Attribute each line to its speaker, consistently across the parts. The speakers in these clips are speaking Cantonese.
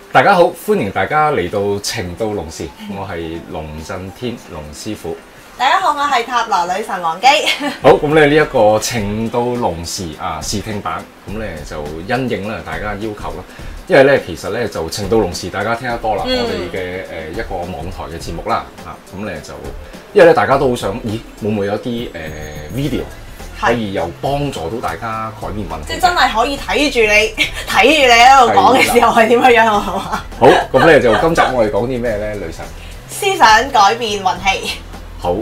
Speaker 1: 大家好，歡迎大家嚟到情到濃時，我係龍震天龍師傅。
Speaker 2: 大家好，我係塔羅女神王姬。
Speaker 1: 好，咁咧呢一個情到濃時試聽版，咁咧就因應啦大家要求啦，因為咧其實咧就情到濃時大家聽得多啦，我哋嘅一個網台嘅節目啦，咁咧就因為咧大家都好想，咦會唔會有啲video？可以又幫助到大家改變問題，即係
Speaker 2: 真係可以睇住你喺度講嘅時候係點樣樣，好嘛？
Speaker 1: 好，咁咧就今集我哋講啲咩咧，女神？
Speaker 2: 思想改變運氣。
Speaker 1: 好。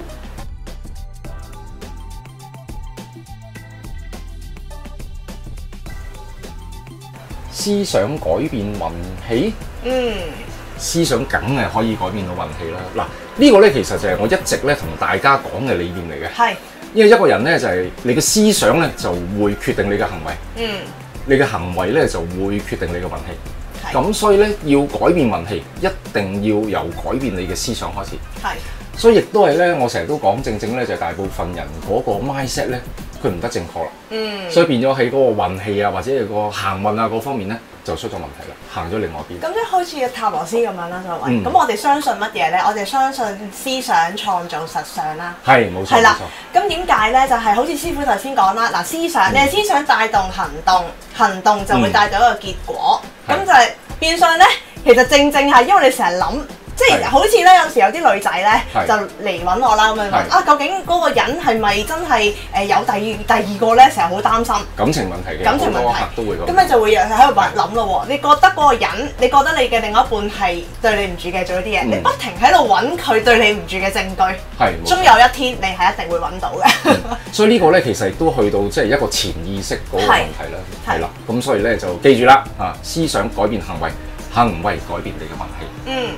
Speaker 1: 思想改變運氣？思想梗係可以改變到運氣啦。嗱，呢個咧其實就係我一直咧同大家講嘅理念嚟嘅。係。因為一個人咧就係你嘅思想咧就會決定你嘅行為，你嘅行為咧就會決定你嘅運氣。咁所以咧要改變運氣，一定要由改變你嘅思想開始。所以亦都係咧，我成日都講正咧就係大部分人嗰個 mindset 咧，佢唔得正確啦。所以變咗喺嗰個運氣啊，或者係個行運啊嗰方面咧，就出咗問題啦，行咗另外一邊。
Speaker 2: 咁即係好似塔羅師咁樣啦，就係。咁我哋相信乜嘢咧？我哋相信思想創造實相啦。係，冇錯。係啦。咁點解咧？就係好似師傅頭先講啦，嗱，思想，你係思想帶動行動，行動就會帶到一個結果。咁就係變相咧，其實正係因為你成日諗。即係好似咧，有時有啲女仔咧就嚟揾我啦，咁樣問究竟嗰個人係咪真係有第二個咧？成日好擔心
Speaker 1: 感情問題嘅，
Speaker 2: 感情問題
Speaker 1: 都會咁。
Speaker 2: 咁你就會喺度諗咯喎，你覺得嗰個人，你覺得你嘅另外一半係對你唔住嘅，做咗啲嘢，你不停喺度揾佢對你唔住嘅證據，終有一天你係一定會揾到嘅。所以呢個咧其實亦都去到即係一個潛意識嗰個問題啦，係啦。咁所以咧就記住啦，思想改變行為，行為改變你嘅運氣。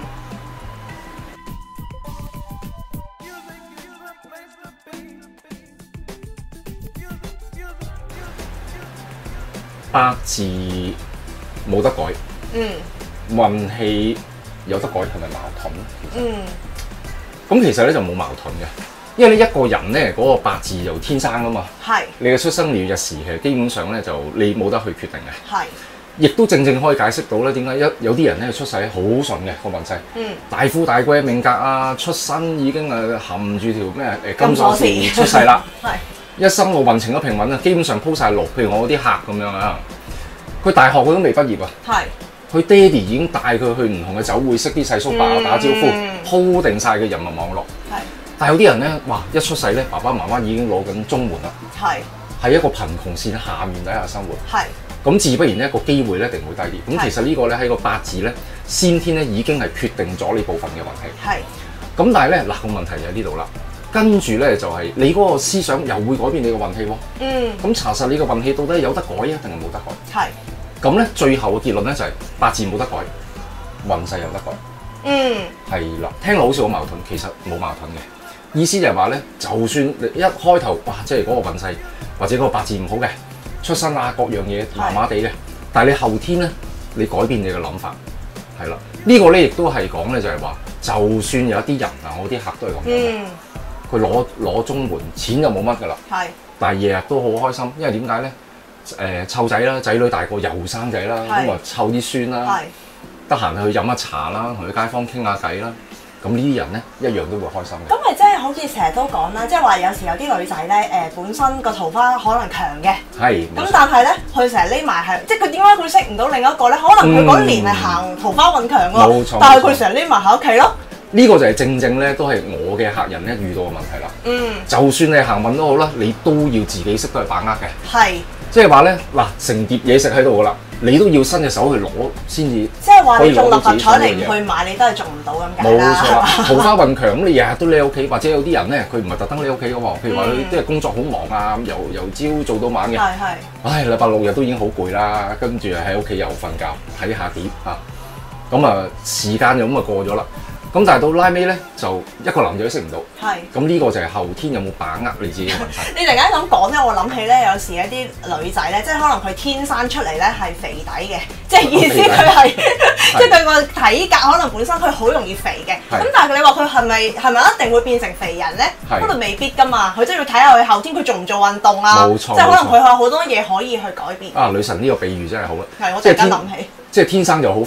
Speaker 2: 八字冇得改，運氣有得改，係咪矛盾咧？咁其實咧就冇矛盾嘅，因為呢一個人咧嗰個八字就天生噶嘛，你嘅出生年月日時其實基本上咧就你冇得去決定嘅，亦都正可以解釋到咧點解有啲人咧出世好順嘅個運勢，大富大貴命格啊，出身已經含住條咩金鎖匙出世啦。一生個運程都平穩啊，基本上鋪晒路。譬如我嗰啲客咁樣啊，佢大學佢都未畢業啊，佢爹哋已經帶佢去唔同嘅酒會，識啲細叔伯打招呼，鋪定晒嘅人脈網絡。但係有啲人咧，哇！一出世咧，爸爸媽媽已經攞緊綜援啦，係一個貧窮線下面底下生活。咁自不然呢個機會咧一定會低啲。咁其實呢個咧喺個八字咧先天咧已經係決定咗呢部分嘅運氣。咁但係咧嗱個問題就喺呢度啦。跟住咧就係你嗰個思想又會改變你嘅運氣喎。咁查實你嘅運氣到底有得改啊，定係冇得改？咁咧最後嘅結論咧就係八字冇得改，運勢有得改。係啦，聽落好似好矛盾，其實冇矛盾嘅。意思就係話咧，就算你一開頭哇，即係嗰個運勢或者嗰個八字唔好嘅，出身啊各樣嘢麻麻地嘅，但係你後天咧，你改變你嘅諗法，係啦。呢個咧亦都係講咧就係話，就算有一啲人啊，我啲客都係咁樣。佢攞綜援，錢就冇乜噶啦。但係日日都好開心，因為點解咧？湊仔啦，仔女大個又生仔啦，咁啊湊啲孫啦，得閒去飲下茶啦，同啲街坊傾下偈啦。咁呢啲人咧一樣都會開心嘅。咁咪即係好似成日都講啦，即係話有時有啲女仔咧本身個桃花可能強嘅，咁但係咧佢成日匿埋係，即係佢點解佢識唔到另一個咧？可能佢嗰年係行桃花運強喎，但係佢成日匿埋喺屋企咯。呢個就係正咧，都係我嘅客人咧遇到嘅問題啦。就算你行運都好啦，你都要自己識得去把握嘅。即係話咧，嗱，成碟嘢食喺度噶啦，你都要伸隻手去攞先至。即係話你中六合彩你唔去買，你都係中唔到咁解啦。冇錯，桃花運強咁，你日日都匿喺屋企，或者有啲人咧，佢唔係特登匿喺屋企嘅喎。譬如話佢即係工作好忙啊，由朝做到晚嘅。唉，禮拜六日都已經好攰啦，跟住喺屋企又瞓覺睇下碟啊，咁啊時間就咁啊過咗啦。咁但係到拉尾咧，就一個男仔都識唔到。咁呢個就係後天有冇把握你自己嘅運勢。你突然間咁講咧，我諗起咧，有時一啲女仔咧，即係可能佢天生出嚟咧係肥底嘅，即係意思佢係，即係佢個體格可能本身佢好容易肥嘅。咁但係你話佢係咪一定會變成肥人咧？可能未必㗎嘛。佢真係要睇下佢後天佢做唔做運動啊。冇錯。即係可能佢有好多嘢可以去改變。啊，女神呢個比喻真係好啦。係，我突然間諗起。即係天生就好肥。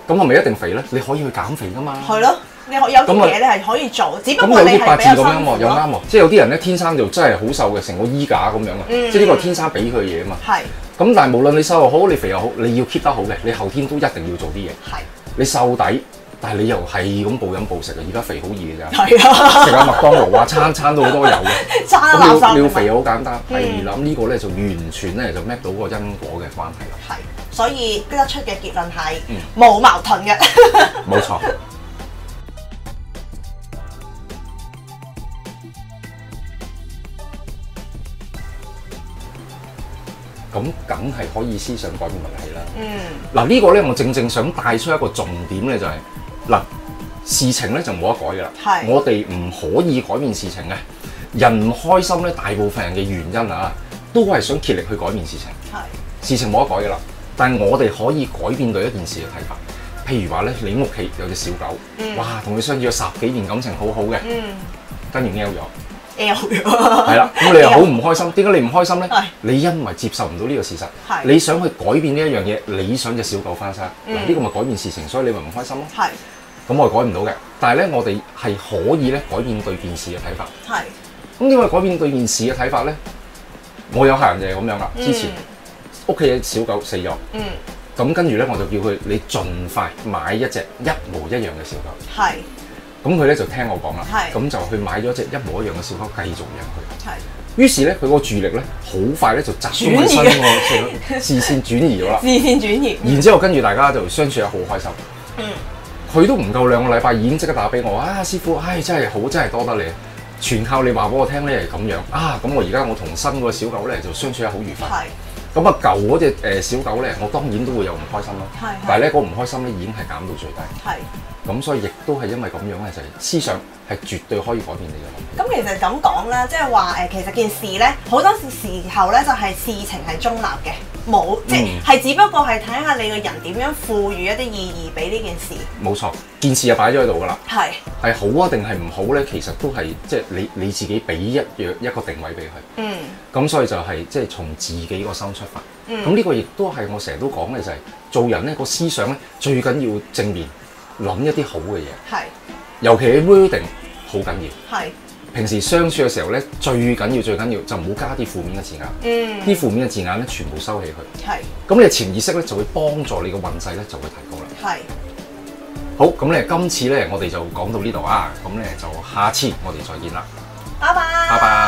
Speaker 2: 咁係咪一定肥咧？你可以去減肥噶嘛。
Speaker 3: 係咯，你有啲嘢你係可以做，只不過你係比較辛苦。咁有啲八字咁樣喎，
Speaker 2: 又啱喎。即係有啲人咧天生就真係好瘦嘅，成個衣架咁樣啊。即係呢個天生俾佢嘅嘢啊嘛。係。咁但係無論你瘦又好，你肥又好，你要 keep 得好嘅，你後天都一定要做啲嘢。係。你瘦底，但係你又係咁暴飲暴食啊！而家肥好易嘅咋。係啊。食下麥當勞啊，餐都好多油嘅。餐垃圾。你要肥好簡單。係啦，咁呢個咧就完全咧就 map 到嗰個因果嘅關係啦。係。
Speaker 3: 所以得出嘅結論係冇矛盾嘅。
Speaker 2: 冇錯。咁梗係可以思想改變運氣啦。嗱呢個咧，我正想帶出一個重點咧，就係嗱事情咧就冇得改噶啦。我哋唔可以改變事情嘅。人唔開心咧，大部分人嘅原因啊，都係想竭力去改變事情。事情冇得改噶啦。但係我哋可以改變對一件事嘅睇法，譬如話咧，你屋企有隻小狗，哇，同你相處咗10幾年，感情好好嘅，跟住 L 咗，係啦，咁你又好唔開心。點解你唔開心咧？你因為接受唔到呢個事實，你想去改變呢一樣嘢，你想隻小狗翻生，嗱呢個咪改變事情，所以你咪唔開心咯。係，咁我係改唔到嘅，但係咧我哋係可以咧改變對件事嘅睇法。係，咁點解改變對件事嘅睇法咧？我有客人就係咁樣啦，之前。屋企嘅小狗死咗，咁跟住咧我就叫佢你盡快買一隻一模一樣嘅小狗。係，咁佢咧就聽我講啦，咁就去買咗隻一模一樣嘅小狗繼續養佢。係，於是咧佢個注意力咧好快咧就集中喺新個視線轉移咗啦。視線轉移，然之後跟住大家就相處得好開心。佢都唔夠2個禮拜已經即刻打俾我啊，師傅，真係好，真係多得你，全靠你話俾我聽咧係咁樣啊。咁我而家我同新嗰個小狗咧就相處得好愉快。係。咁啊，舊嗰隻小狗咧，我當然都會有唔開心啦。但係咧，嗰唔開心咧已經係減到最低。咁所以亦都係因為咁樣咧，就係思想係絕對可以改變你嘅。咁其實咁講啦，即係話其實件事咧，好多時候咧就係事情係中立嘅，冇即係只不過係睇下你個人點樣賦予一啲意義俾呢件事。冇錯，件事就擺咗喺度㗎啦。係好啊定係唔好咧？其實都係即係你自己俾一個定位俾佢。咁所以就係即係從自己個心出發。咁呢個亦都係我成日都講嘅就係做人咧個思想咧最緊要正面，諗一啲好嘅嘢。係，尤其係 wording 好緊要。係，平時相處嘅時候咧最緊要就唔好加啲負面嘅字眼。啲負面嘅字眼咧全部收起佢。係，咁你潛意識咧就會幫助你嘅運勢咧就會提高啦。係，好，咁咧今次咧我哋就講到呢度啊，咁咧就下次我哋再見啦。拜拜。拜拜。